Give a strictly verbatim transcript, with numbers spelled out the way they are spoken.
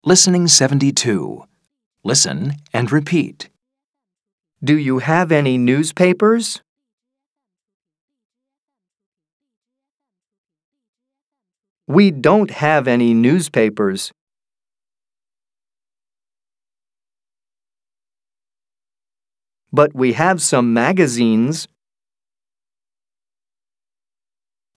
Listening seventy-two. Listen and repeat. Do you have any newspapers? We don't have any newspapers. But we have some magazines.